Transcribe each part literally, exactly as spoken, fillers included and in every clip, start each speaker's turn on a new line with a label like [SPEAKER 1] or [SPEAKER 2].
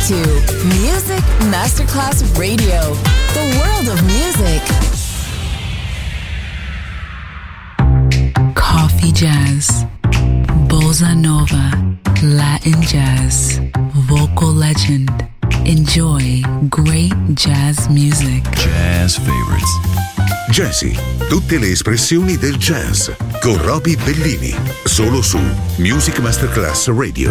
[SPEAKER 1] to Music Masterclass Radio, the world of music.
[SPEAKER 2] Coffee jazz, bossa nova, Latin jazz, vocal legend. Enjoy great jazz music.
[SPEAKER 3] Jazz favorites.
[SPEAKER 4] Jazzy, tutte le espressioni del jazz con Roby Bellini, solo su Music Masterclass Radio.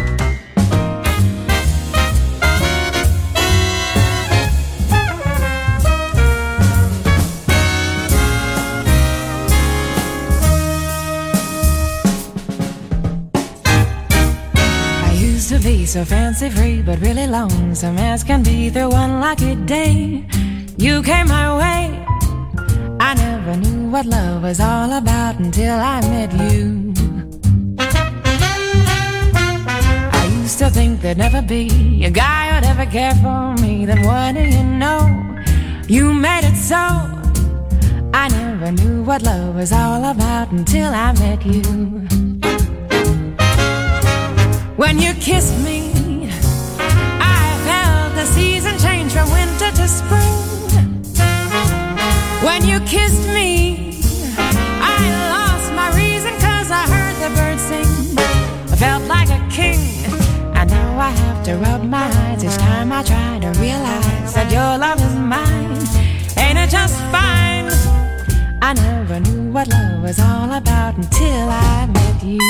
[SPEAKER 5] So fancy free, but really lonesome as can be through one lucky day. You came my way. I never knew what love was all about until I met you. I used to think there'd never be a guy who'd ever care for me. Then what do you know? You made it so. I never knew what love was all about until I met you. When you kissed me, I felt the season change from winter to spring. When you kissed me, I lost my reason 'cause I heard the birds sing. I felt like a king, and now I have to rub my eyes each time I try to realize that your love is mine. Ain't it just fine? I never knew what love was all about until I met you.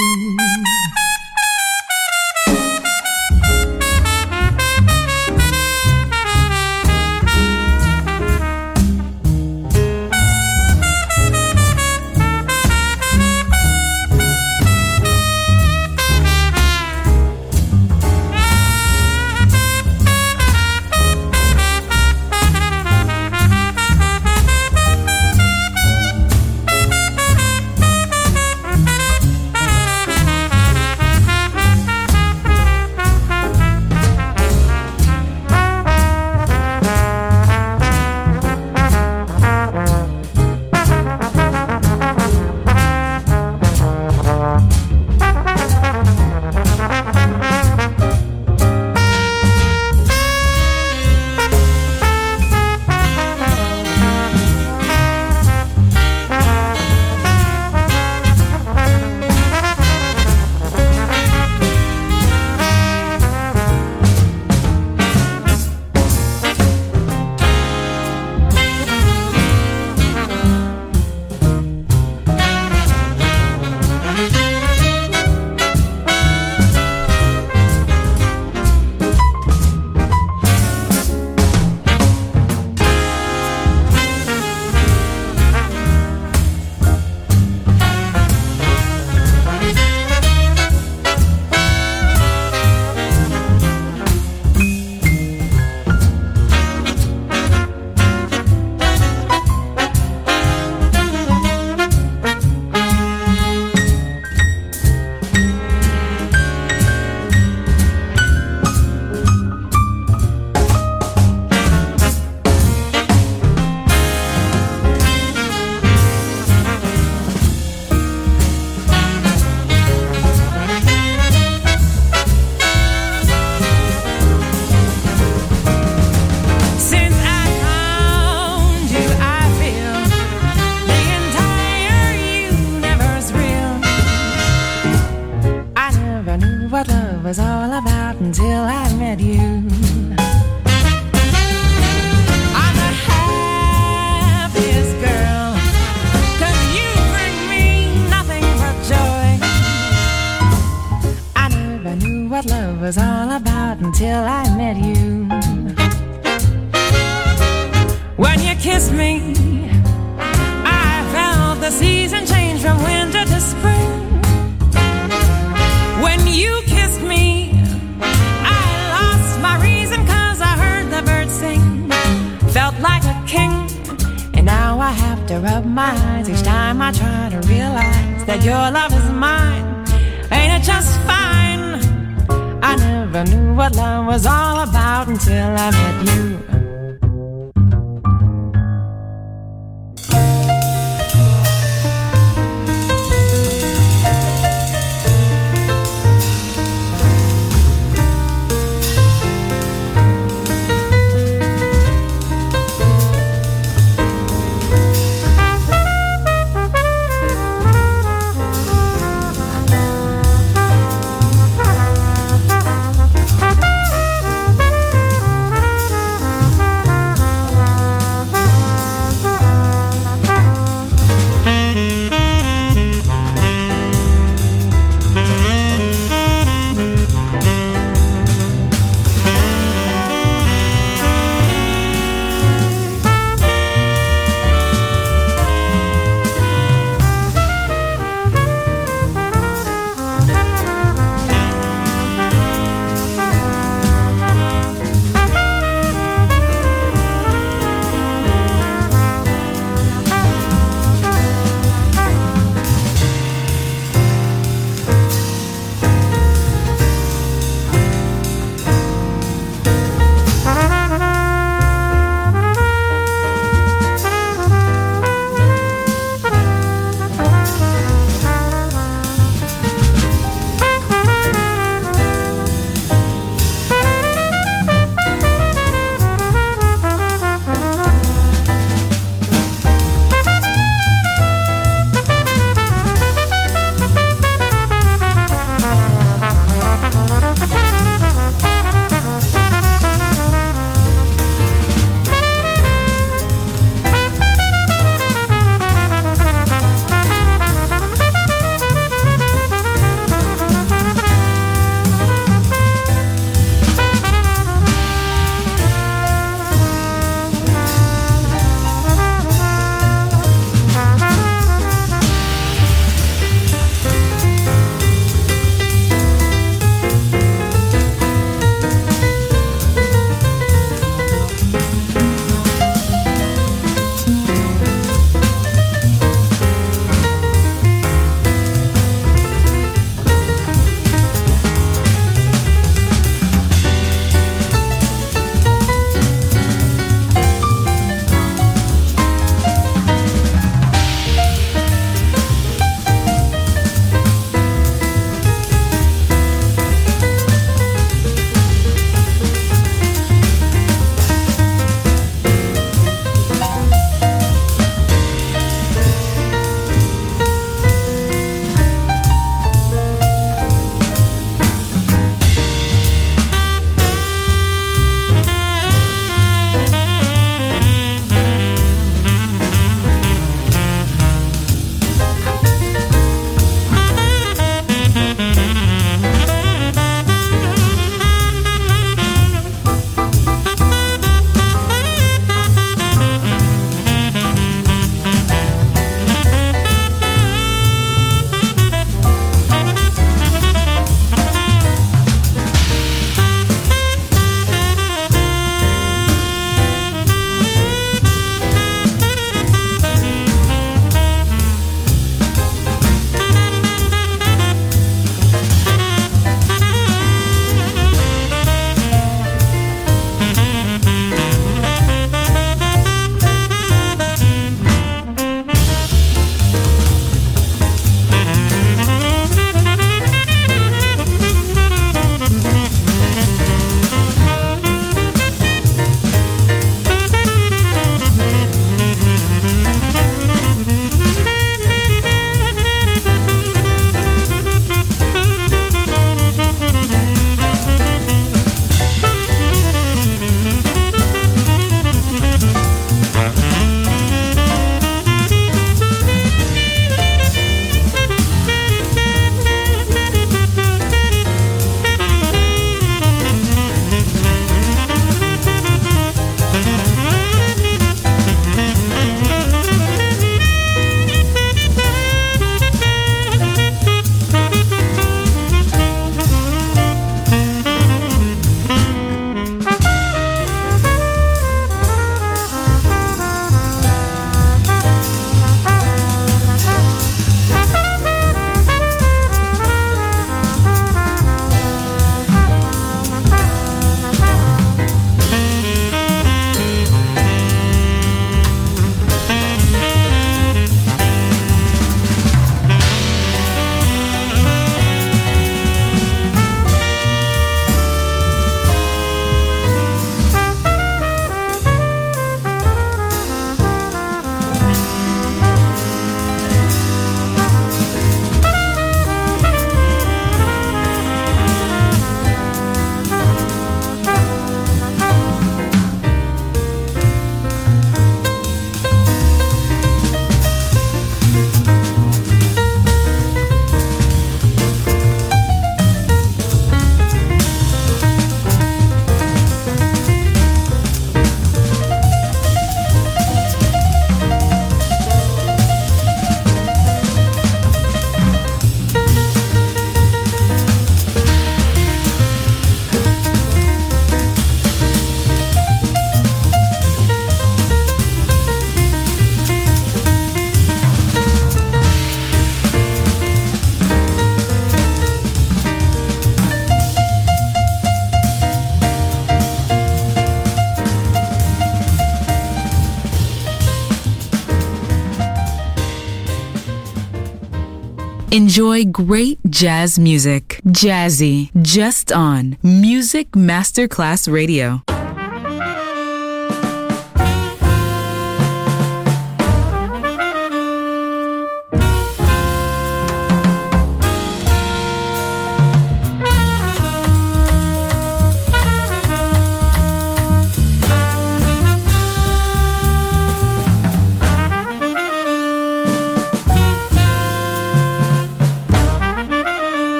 [SPEAKER 2] Enjoy great jazz music. Jazzy, just on Music Masterclass Radio.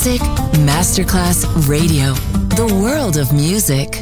[SPEAKER 1] Music Masterclass Radio. The world of music.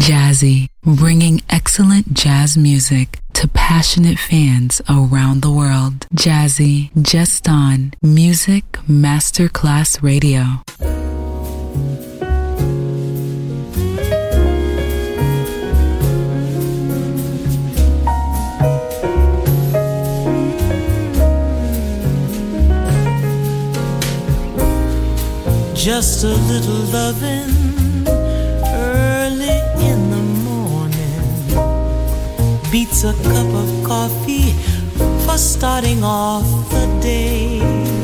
[SPEAKER 2] Jazzy, bringing excellent jazz music to passionate fans around the world. Jazzy, just on Music Masterclass Radio.
[SPEAKER 3] Just a little loving early in the morning beats a cup of coffee for starting off the day.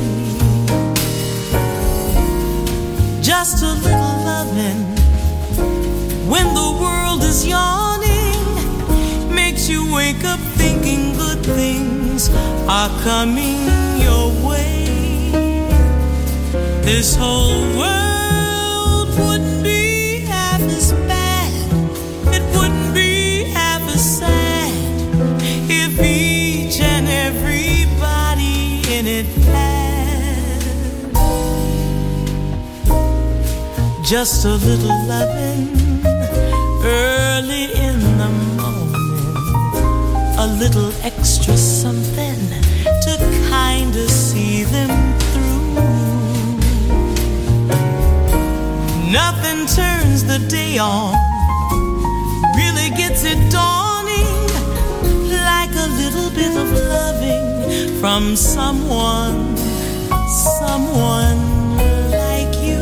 [SPEAKER 3] Just a little loving when the world is yawning makes you wake up thinking good things are coming your way. This whole world wouldn't be half as bad, it wouldn't be half as sad if each and everybody in it had just a little loving early in the morning, a little extra something to kinda see them through. Nothing turns the day on, really gets it dawning, like a little bit of loving from someone, someone like you.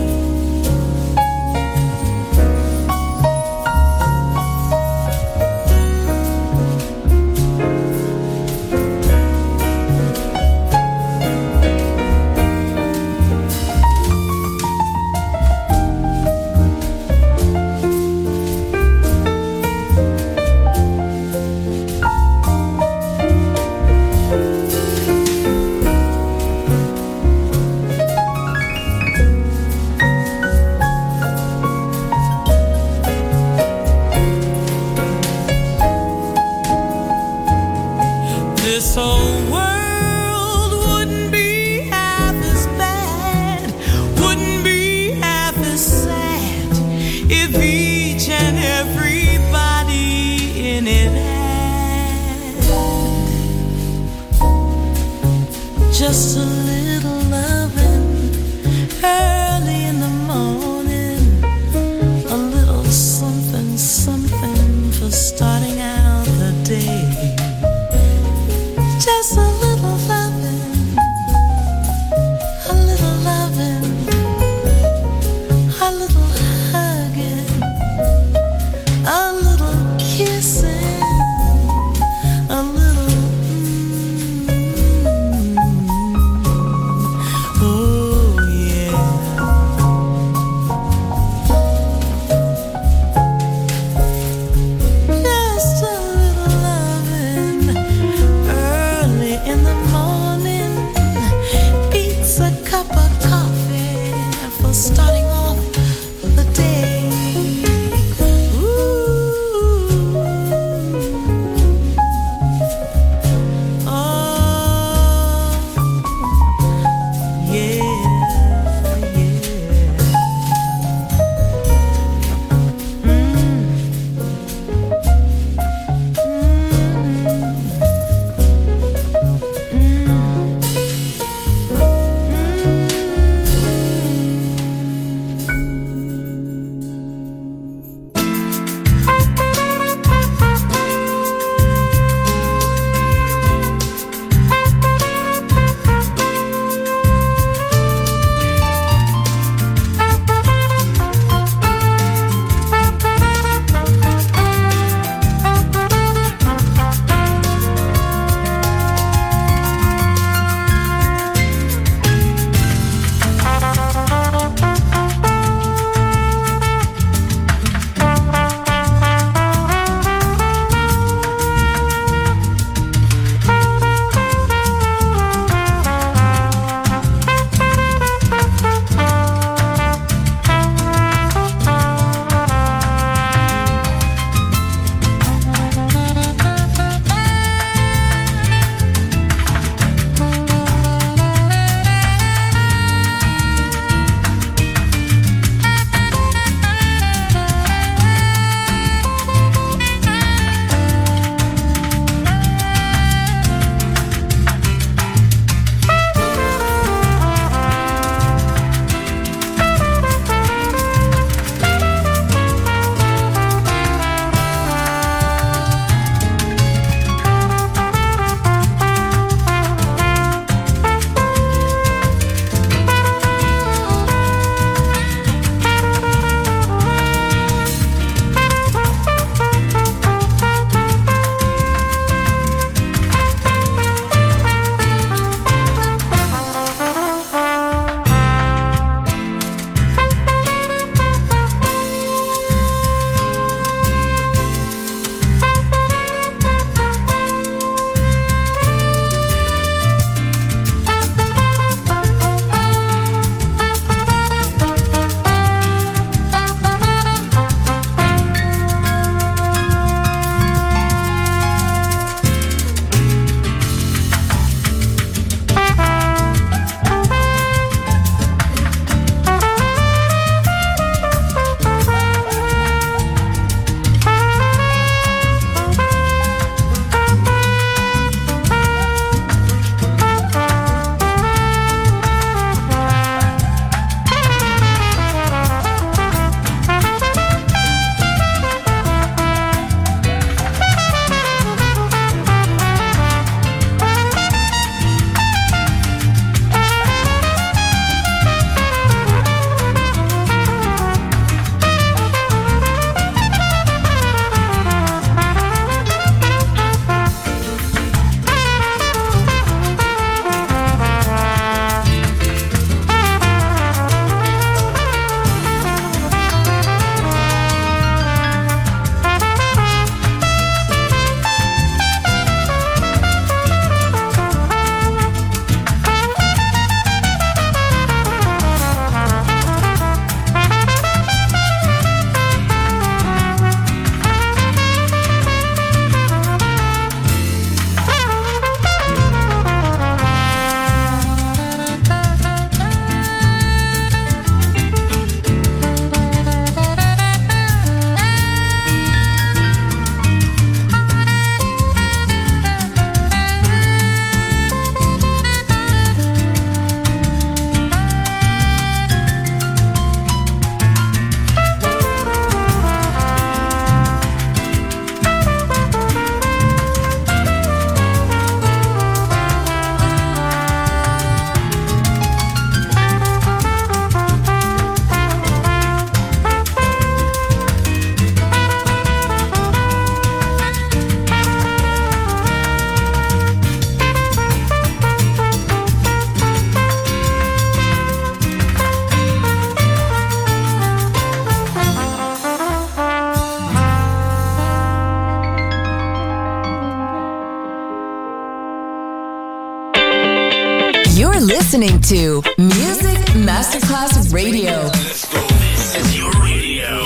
[SPEAKER 1] listening to Music Masterclass Radio.
[SPEAKER 6] Let's go. This is your radio.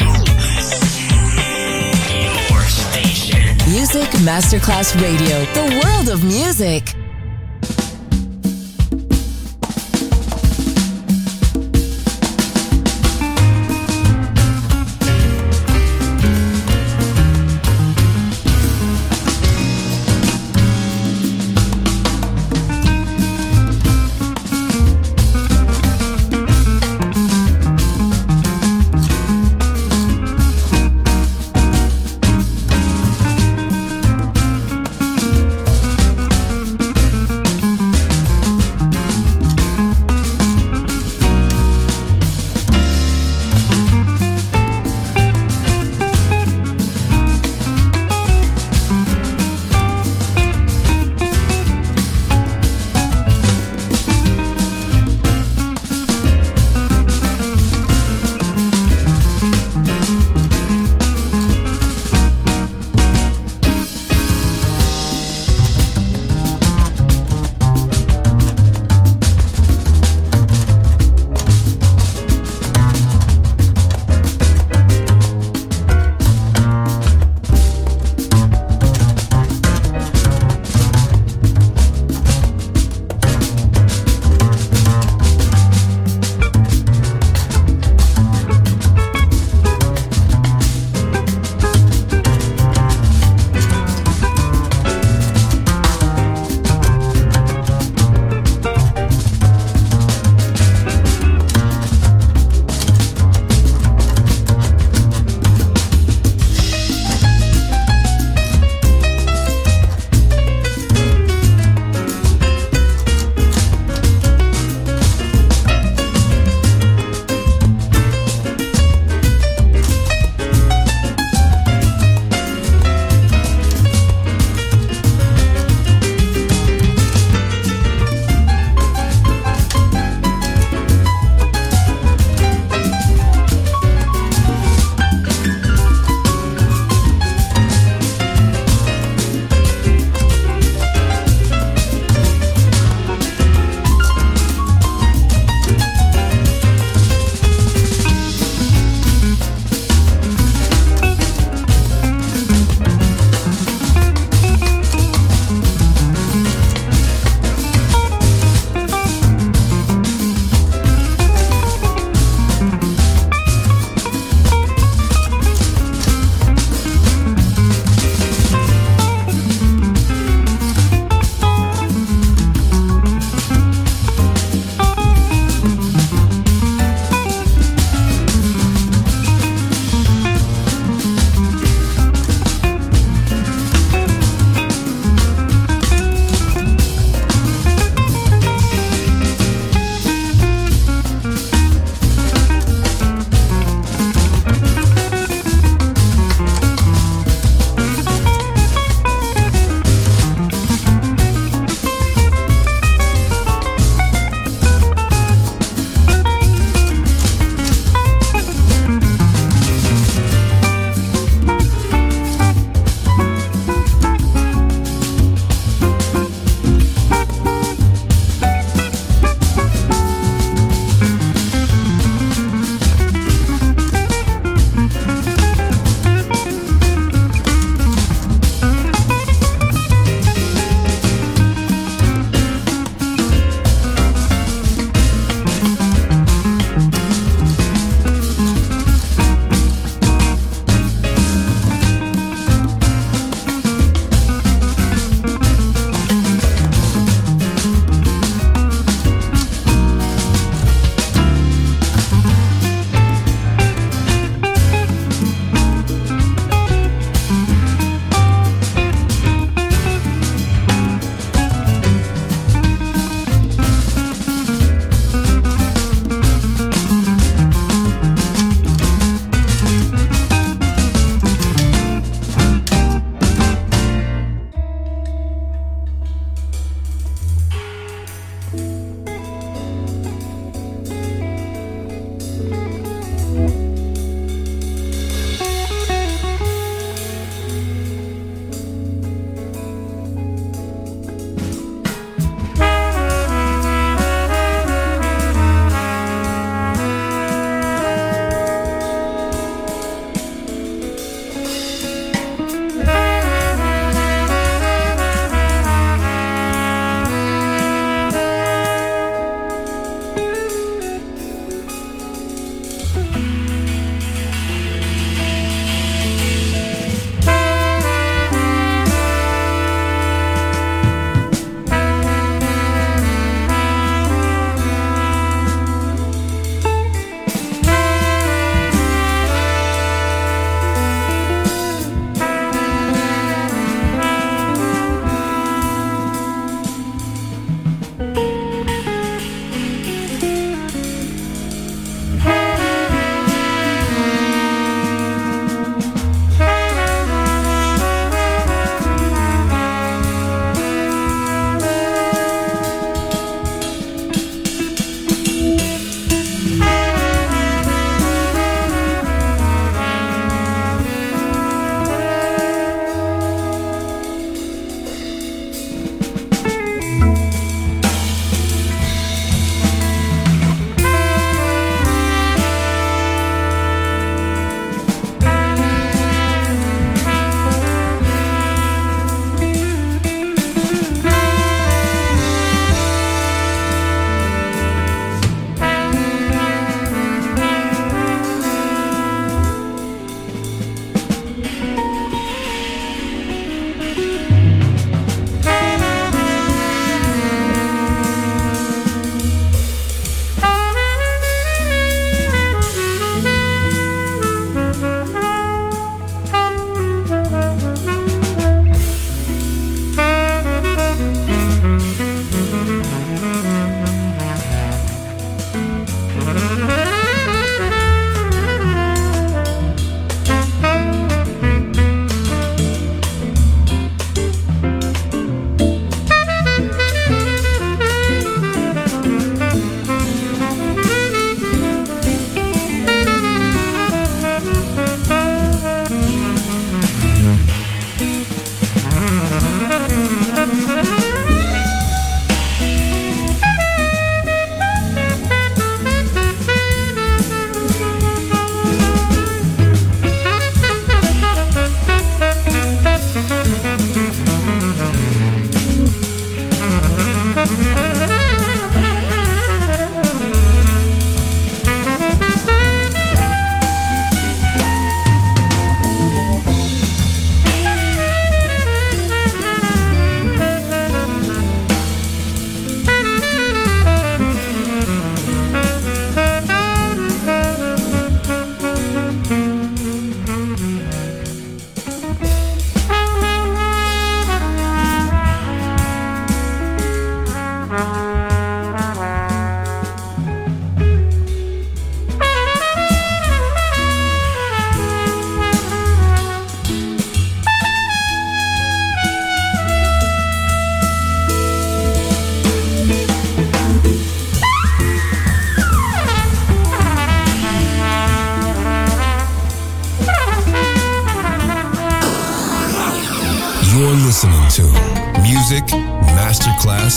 [SPEAKER 6] Your station.
[SPEAKER 1] Music Masterclass Radio. The world of music.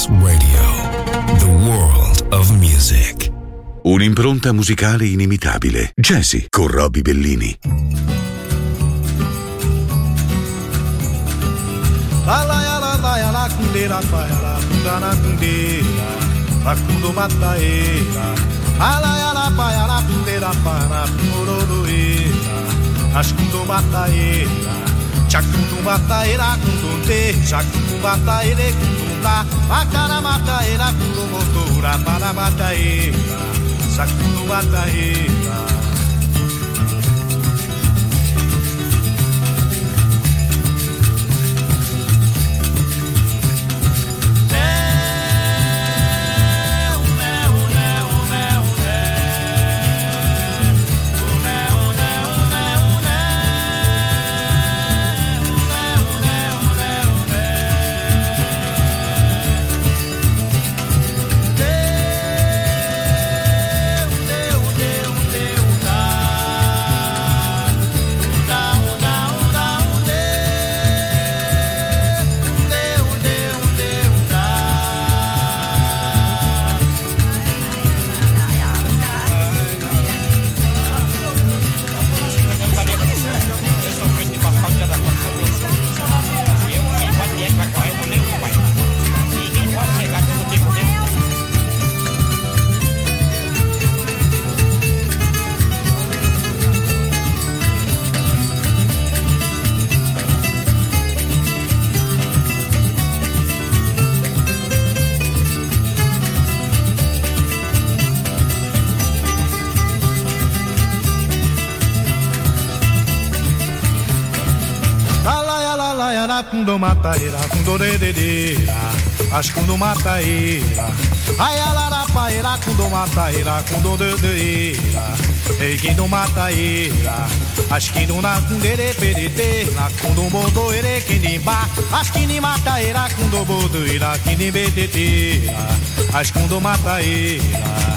[SPEAKER 7] Masterclass Radio. The world of music.
[SPEAKER 4] Un'impronta musicale inimitabile. Jazzy con Roby Bellini.
[SPEAKER 8] La la ya la la ya la kundera pa ya la kundana kundera la kundo mataera la la ya la pa ya la kundera pa la morodoera askundo mataera chakundo mataera kundonte chakundo mataera kundonta akara mataera kundo motora para mataera chakundo mataera. Kundo mataera, kundo dededeira, as kundo mataera, ai alarapaera, kundo mataera, kundo dedeira, ei kundo mataera, as kundo na kundere perete, na kundo modoere kinimba, as kini mataera, kundo bodoira, kini beteteira, as kundo mataera.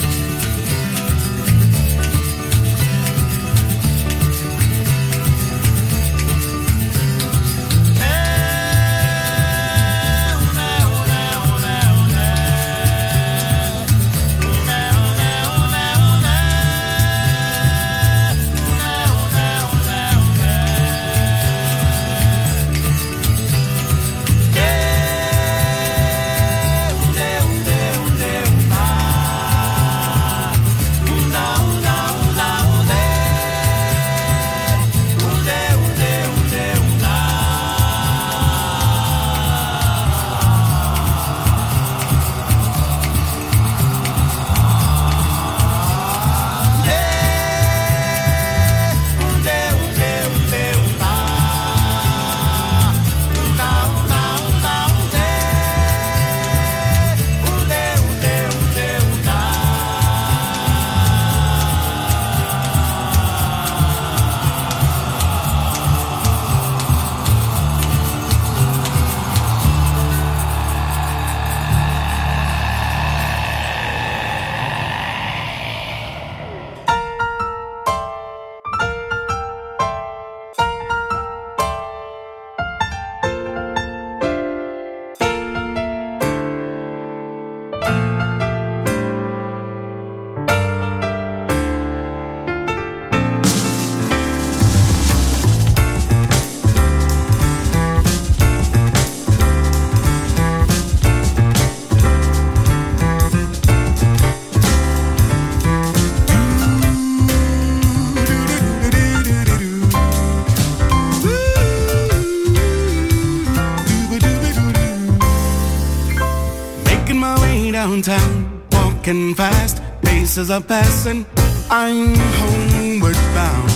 [SPEAKER 9] Downtown, walking fast, faces are passing, I'm homeward bound.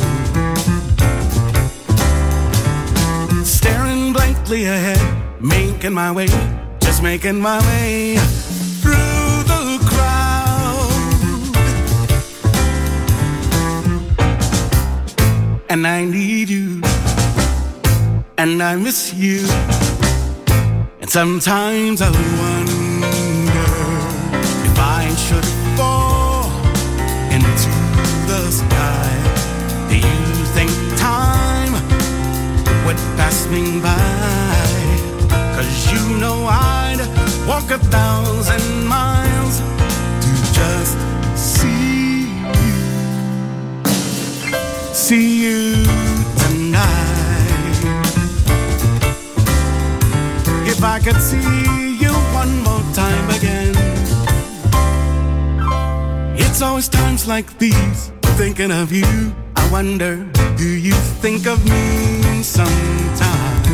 [SPEAKER 9] Staring blankly ahead, making my way, just making my way through the crowd. And I need you, and I miss you, and sometimes I wonder should fall into the sky. Do you think time would pass me by? 'Cause you know I'd walk a thousand miles to just see you, see you tonight. If I could see you one more time again. It's always times like these, thinking of you. I wonder, do you think of me sometimes?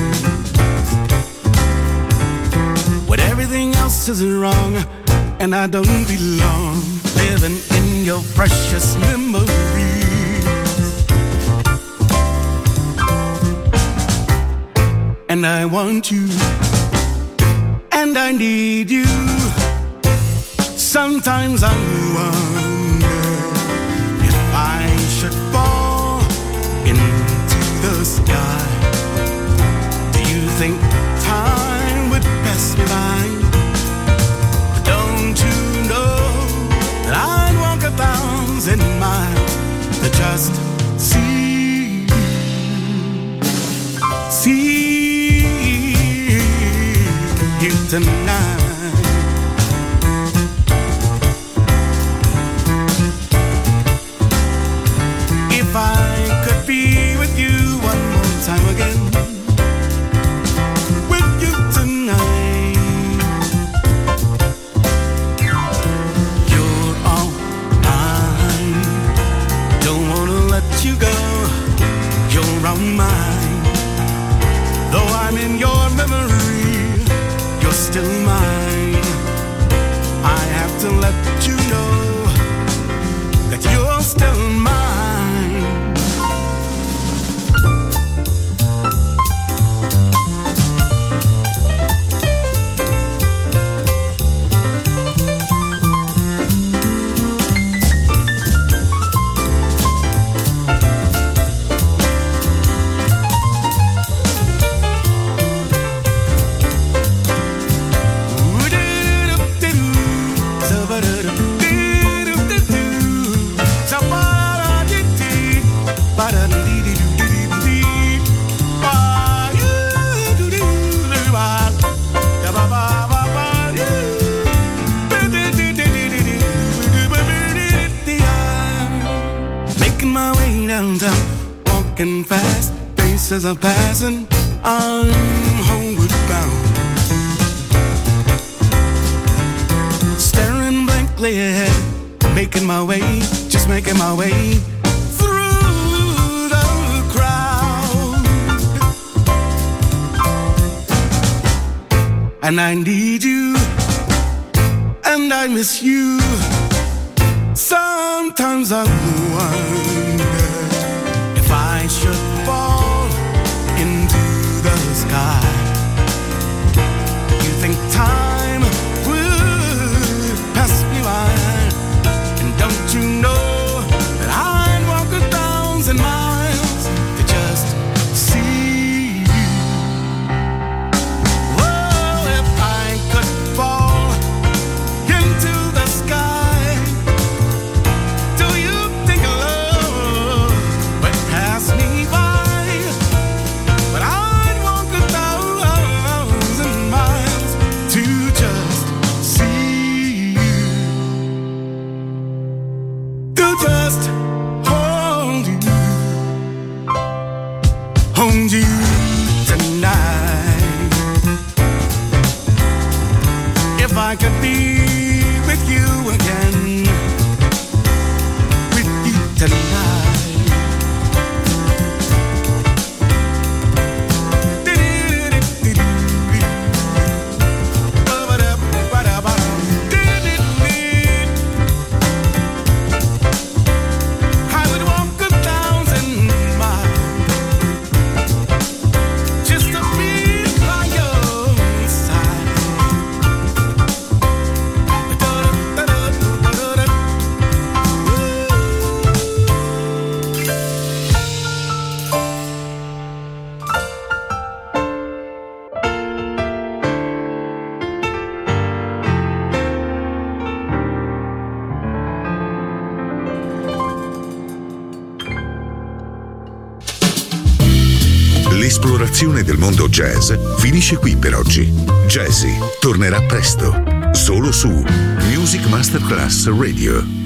[SPEAKER 9] When everything else is wrong and I don't belong, living in your precious memories. And I want you, and I need you. Sometimes I wonder if I should fall into the sky. Do you think time would pass me by? Don't you know that I'd walk a thousand miles to just see you, see you tonight. If I could be with you one more time again, with you tonight. You're all mine, don't wanna let you go. You're all mine, though I'm in your memory, you're still mine. I have to let you know that you're still mine. Walking fast, faces are passing, I'm homeward bound. Staring blankly ahead, making my way, just making my way through the crowd. And I need you, and I miss you. Sometimes I wonder if I should fall into the sky. You think time would pass me by? And don't you know that I'd walk a thousand miles to just see you? Oh, if I could fall into the sky, do you think love would pass me by? But I'd walk a thousand miles to just see you, to just hold you, hold you tonight. If I could be with you again, with you tonight. I would walk a thousand miles just to be by your side.
[SPEAKER 4] L'esplorazione del mondo jazz finisce qui per oggi. Jazzy tornerà presto, solo su Music Masterclass Radio.